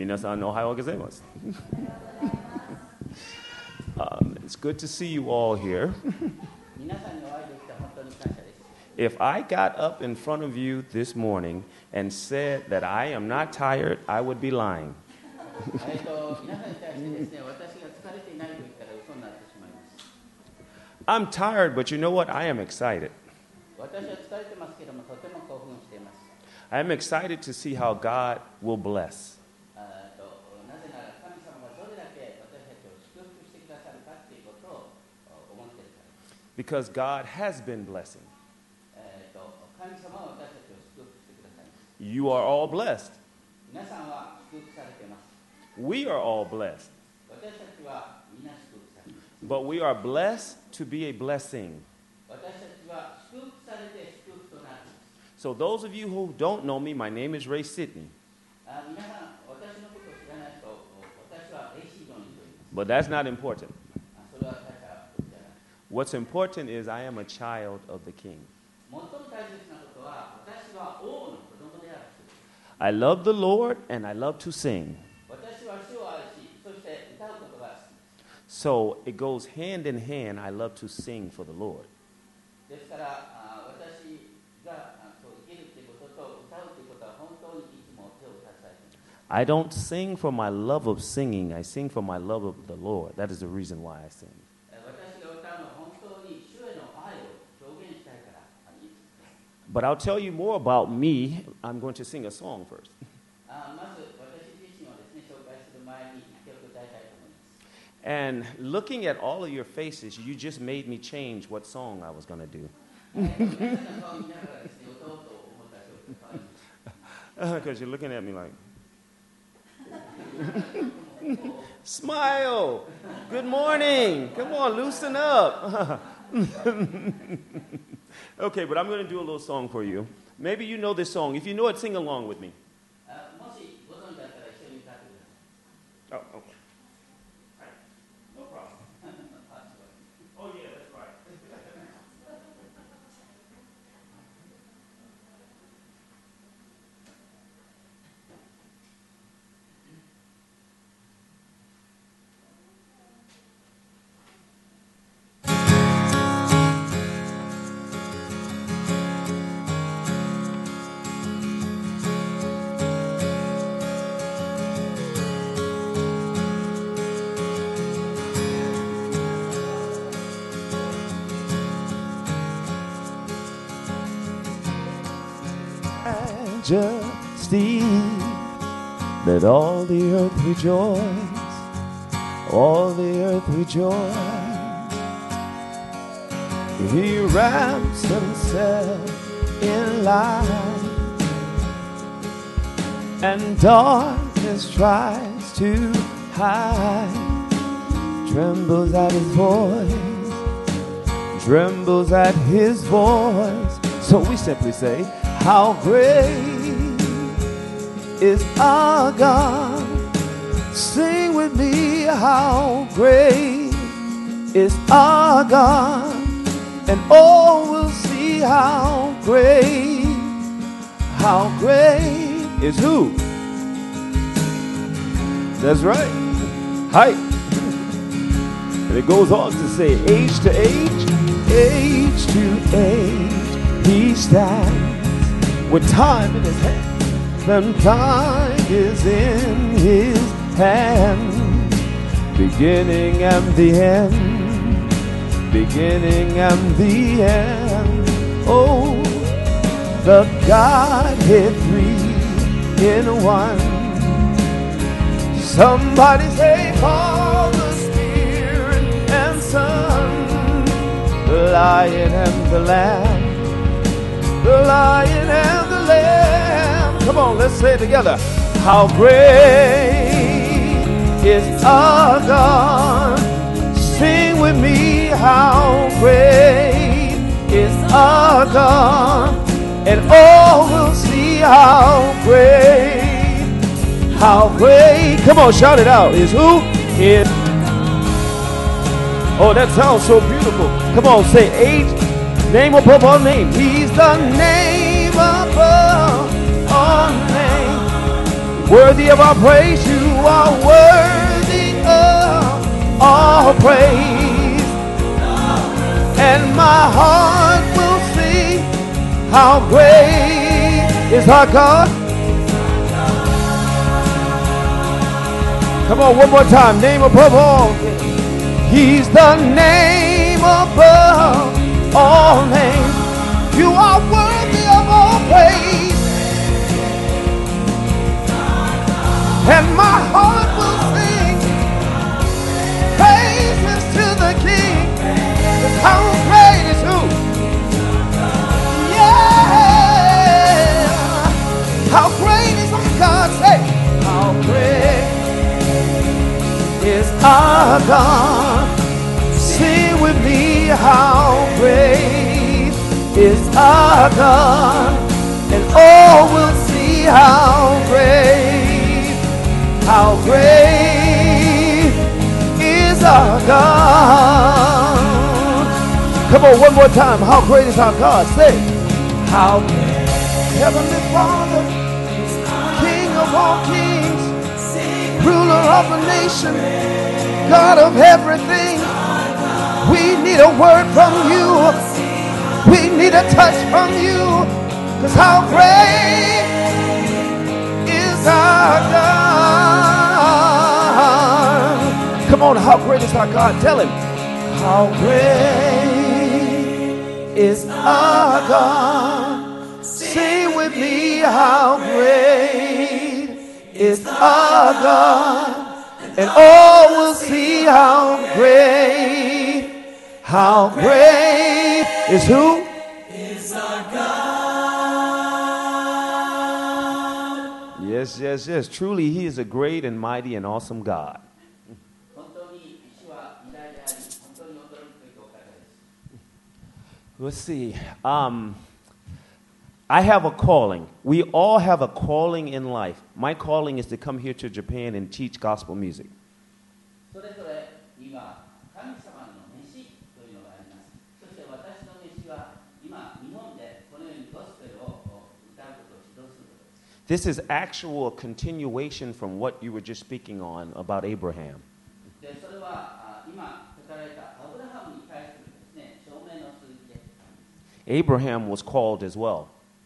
皆さんおはようございます。It's good to see you all here. If I got up in front of you this morning and said that I am not tired, I would be lying. I'm tired, but you know what? I am excited. I am excited to see how God will bless. Because God has been blessing. You are all blessed. We are all blessed. But we are blessed to be a blessing. So those of you who don't know me, my name is Ray Sidney. But that's not important. What's important is I am a child of the King. I love the Lord and I love to sing. So it goes hand in hand. I love to sing for the Lord. I don't sing for my love of singing. I sing for my love of the Lord. That is the reason why I sing. But I'll tell you more about me. I'm going to sing a song first. And looking at all of your faces, you just made me change what song I was going to do. Because you're looking at me like, smile. Good morning. Come on, loosen up. Okay, but I'm going to do a little song for you. Maybe you know this song. If you know it, sing along with me. Oh, okay. No problem. Oh, yeah, that's right. Majesty, let all the earth rejoice, all the earth rejoice. He wraps himself in light, and darkness tries to hide. Trembles at his voice, trembles at his voice. So we simply say, how great is our God? Sing with me, how great is our God? And all will see how great is who? That's right. Height. And it goes on to say, age to age he stands with time in his hand, and time is in his hand. Beginning and the end, beginning and the end. Oh, the Godhead three in one. Somebody say Father, Spirit, and Son, the Lion and the Lamb. The Lion and the Lamb. Come on, let's say it together. How great is our God? Sing with me, how great is our God? And all will see how great. Come on, shout it out. Is who? Is. Oh, that sounds so beautiful. Come on, say age. Name above all names. He's the name above all names. Worthy of our praise, you are worthy of all praise. And my heart will sing, how great is our God. Come on, one more time. Name above all. He's the name above all names. You are worthy of all praise. And my heart will sing praises to the King. How great is who? Yeah. How great is our God? Say, how great is our God? Sing with me, how great is our God? And all will see how great is our God. Come on, one more time. How great is our God? Say, how great. Heavenly Father, King of all kings, ruler of the nation, God of everything. We need a word from you. We need a touch from you. Because how great is our God? Come on, how great is our God? Tell him. How great is our God? Sing with me, how great is our God? And all will see how great is who? Is our God. Yes, yes, yes. Truly, he is a great and mighty and awesome God. Let's see. I have a calling. We all have a calling in life. My calling is to come here to Japan and teach gospel music. This is actual continuation from what you were just speaking on about Abraham. Abraham was called as well.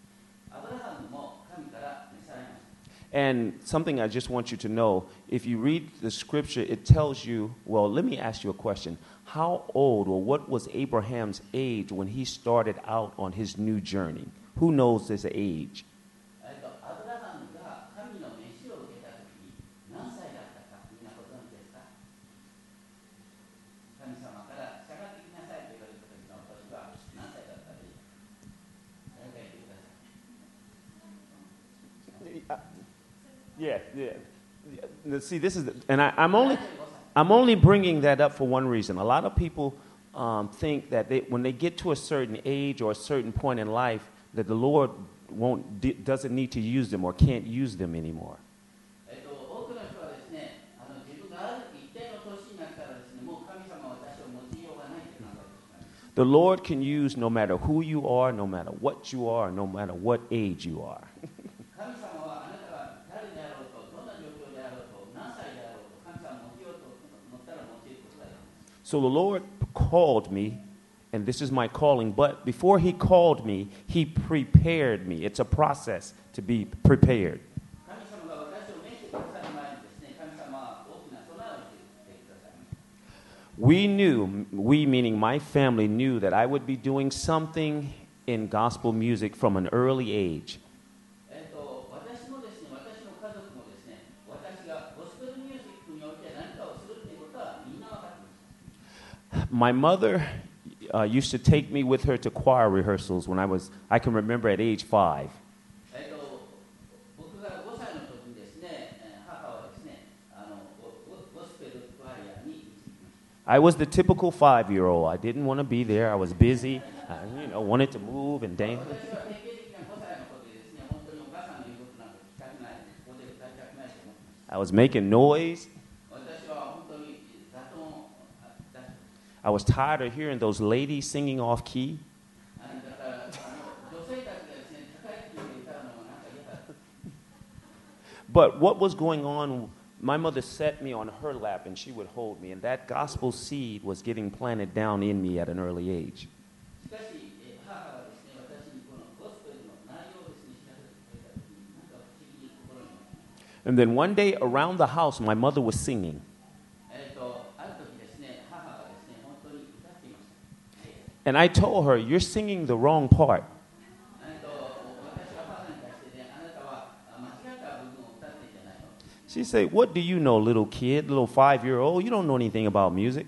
And something I just want you to know, if you read the scripture, it tells you, well, let me ask you a question. How old or what was Abraham's age when he started out on his new journey? Who knows his age? Yeah. See, this is, and I'm only bringing that up for one reason. A lot of people think that when they get to a certain age or a certain point in life, that the Lord doesn't need to use them or can't use them anymore. The Lord can use no matter who you are, no matter what you are, no matter what age you are. So the Lord called me, and this is my calling, but before he called me, he prepared me. It's a process to be prepared. We meaning my family, knew that I would be doing something in gospel music from an early age. My mother used to take me with her to choir rehearsals when I can remember at age 5. I was the typical 5-year-old. I didn't want to be there. I was busy. I wanted to move and dance. I was making noise. I was tired of hearing those ladies singing off key. But what was going on, my mother set me on her lap and she would hold me, and that gospel seed was getting planted down in me at an early age. And then one day around the house, my mother was singing. And I told her, "You're singing the wrong part." She said, "What do you know, little kid, little 5-year-old? You don't know anything about music."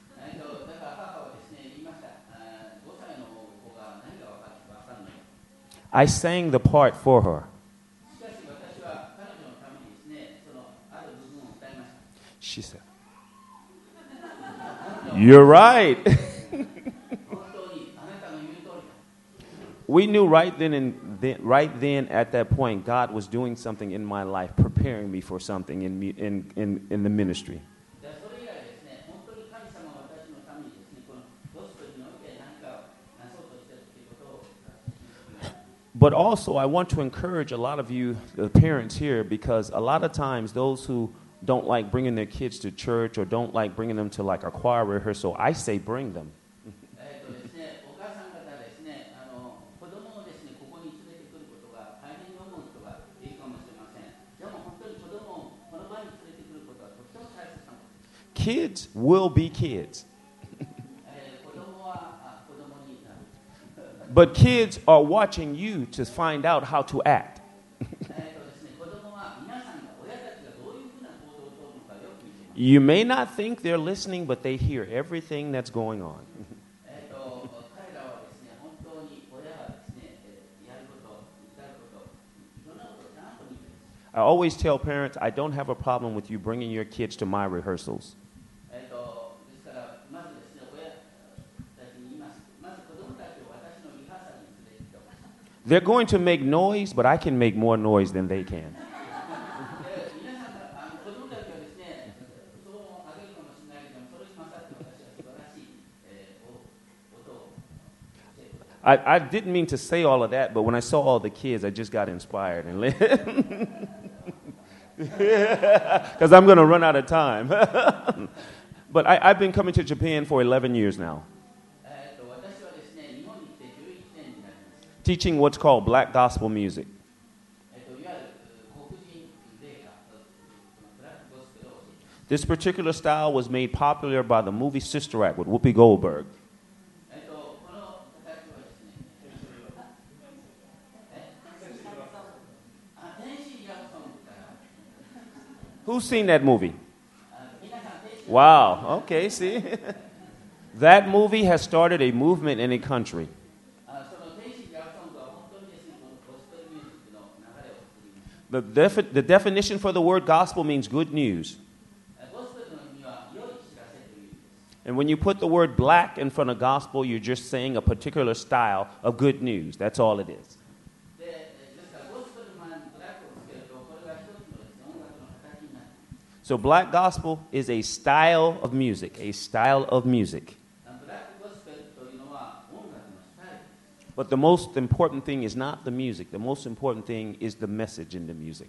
I sang the part for her. She said, "You're right." We knew right then at that point, God was doing something in my life, preparing me for something in the ministry. But also, I want to encourage a lot of you, the parents here, because a lot of times those who don't like bringing their kids to church or don't like bringing them to like a choir rehearsal, I say bring them. Kids will be kids. But kids are watching you to find out how to act. You may not think they're listening, but they hear everything that's going on. I always tell parents, I don't have a problem with you bringing your kids to my rehearsals. They're going to make noise, but I can make more noise than they can. I didn't mean to say all of that, but when I saw all the kids, I just got inspired. Because I'm going to run out of time. But I've been coming to Japan for 11 years now. Teaching what's called black gospel music. This particular style was made popular by the movie Sister Act with Whoopi Goldberg. Who's seen that movie? Wow, okay, see? That movie has started a movement in a country. The definition for the word gospel means good news. And when you put the word black in front of gospel, you're just saying a particular style of good news. That's all it is. So black gospel is a style of music, a style of music. But the most important thing is not the music. The most important thing is the message in the music.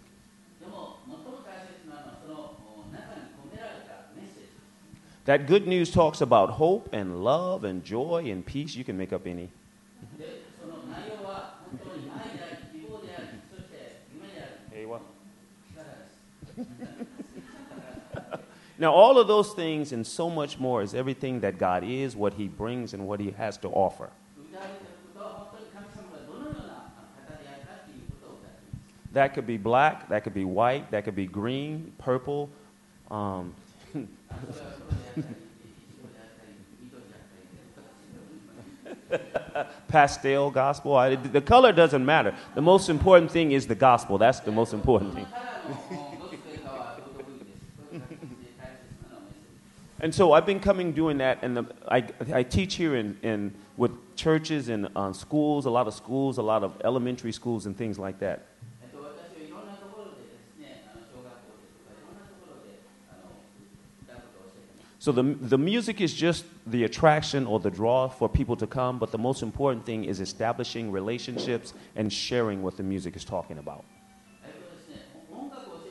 That good news talks about hope and love and joy and peace. You can make up any. Now, all of those things and so much more is everything that God is, what He brings, and what He has to offer. That could be black, that could be white, that could be green, purple, pastel gospel. The color doesn't matter. The most important thing is the gospel. That's the most important thing. And so I've been coming doing that, and I teach here with churches and schools, a lot of elementary schools and things like that. So the music is just the attraction or the draw for people to come, but the most important thing is establishing relationships and sharing what the music is talking about.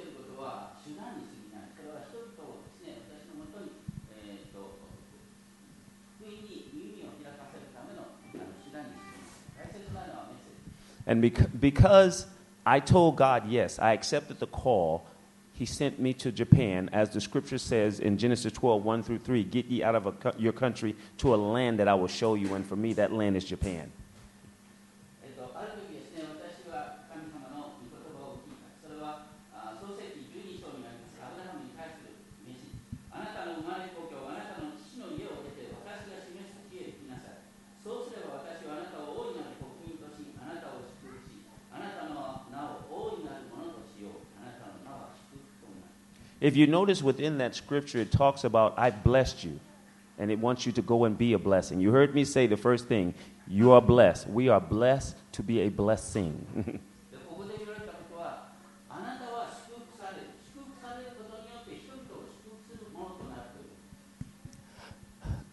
And because I told God, yes, I accepted the call, He sent me to Japan, as the scripture says in Genesis 12, 1 through 3, get ye out of your country to a land that I will show you, and for me that land is Japan. ある時ですね、私は神様の御言葉を聞いた。それは創世記12章にありますアブラハムに対する召し。あなたの生まれ故郷、あなたの父の家を出て、私が示す地へ行きなさい。そうすれば私はあなたを大いなる国民とし、あなたを祝福し、あなたの名を大いなるものとしよう。あなたの名は祝福となる。 If you notice within that scripture, it talks about, I blessed you, and it wants you to go and be a blessing. You heard me say the first thing, you are blessed. We are blessed to be a blessing. ここで言われたことは、あなたは祝福される。祝福されることによって人々を祝福するものとなるという。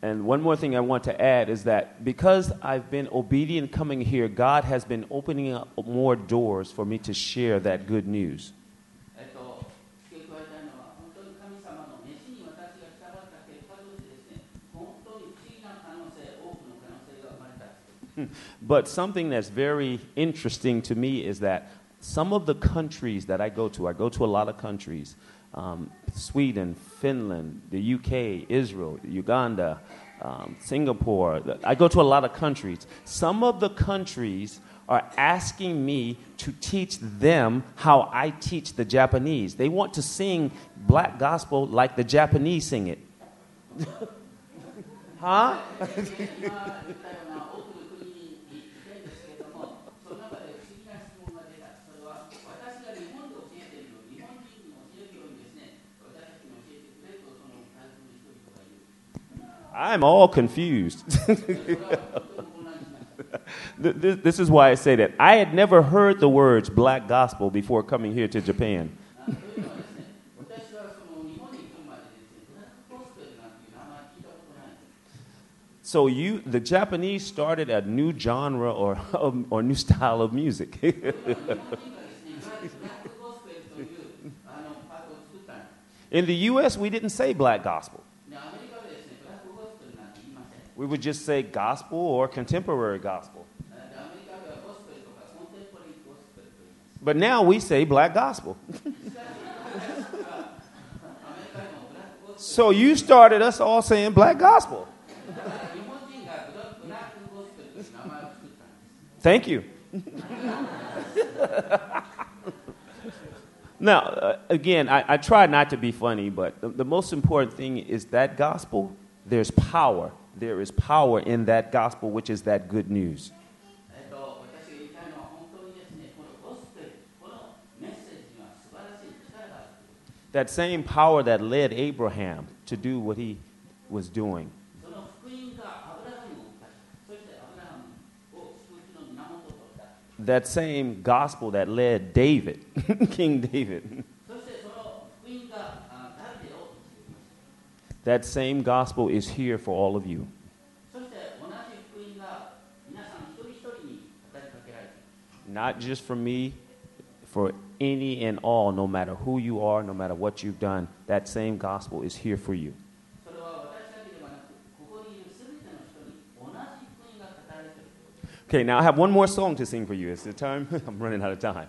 And one more thing I want to add is that because I've been obedient coming here, God has been opening up more doors for me to share that good news. 付け加えたいのは、本当に神様の召しに私が従った結果としてですね、本当に不思議な可能性、多くの可能性が生まれた。 But something that's very interesting to me is that some of the countries that I go to a lot of countries, Sweden, Finland, the UK, Israel, Uganda, Singapore. I go to a lot of countries. Some of the countries are asking me to teach them how I teach the Japanese. They want to sing black gospel like the Japanese sing it. Huh? I'm all confused. This is why I say that. I had never heard the words black gospel before coming here to Japan. So the Japanese started a new genre or new style of music. In the U.S., we didn't say black gospel. We would just say gospel or contemporary gospel. But now we say black gospel. So you started us all saying black gospel. Thank you. Now, again, I try not to be funny, but the most important thing is that gospel, there's power. There is power in that gospel, which is that good news. That same power that led Abraham to do what he was doing. That same gospel that led David, King David. That same gospel is here for all of you. Not just for me, for any and all, no matter who you are, no matter what you've done, that same gospel is here for you. Okay, now I have one more song to sing for you. Is it time? I'm running out of time.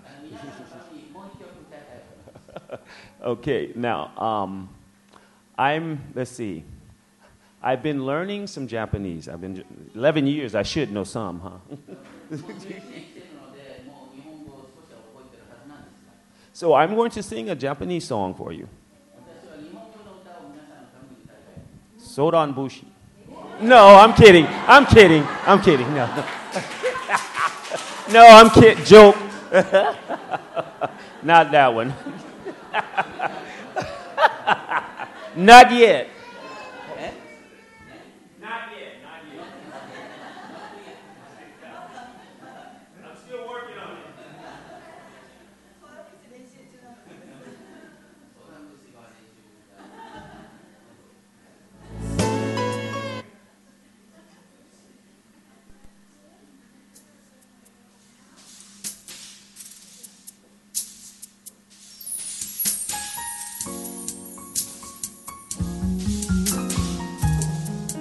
Okay, now, let's see. I've been learning some Japanese. 11 years, I should know some, huh? So I'm going to sing a Japanese song for you. Sodan Bushi. No, I'm kidding. No. No, I'm kidding. Joke. Not that one. Not yet. Not yet. I'm still working on it.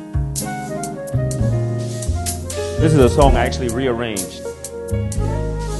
This is a song I actually rearranged.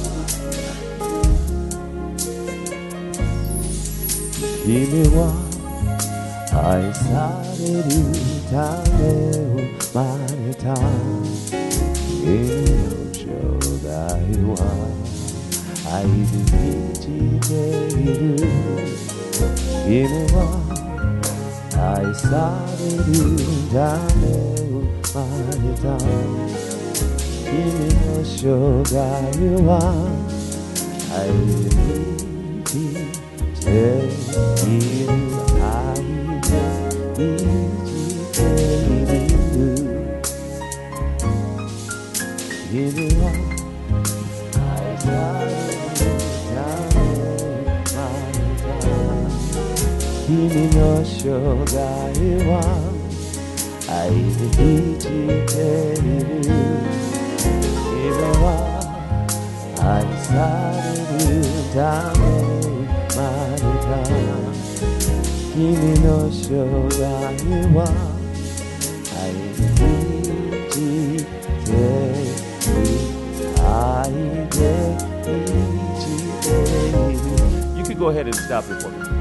君は愛されるため生まれた。君の生涯は愛で満ちている。君は愛されるため生まれた。君の生涯は愛で満ちている。愛で満ちている。君は愛されるため生まれた。君の生涯は愛で満ちている。君は愛されるため生まれた。君の生涯は愛で満ちている。愛で満ちている。You can go ahead and stop it for me.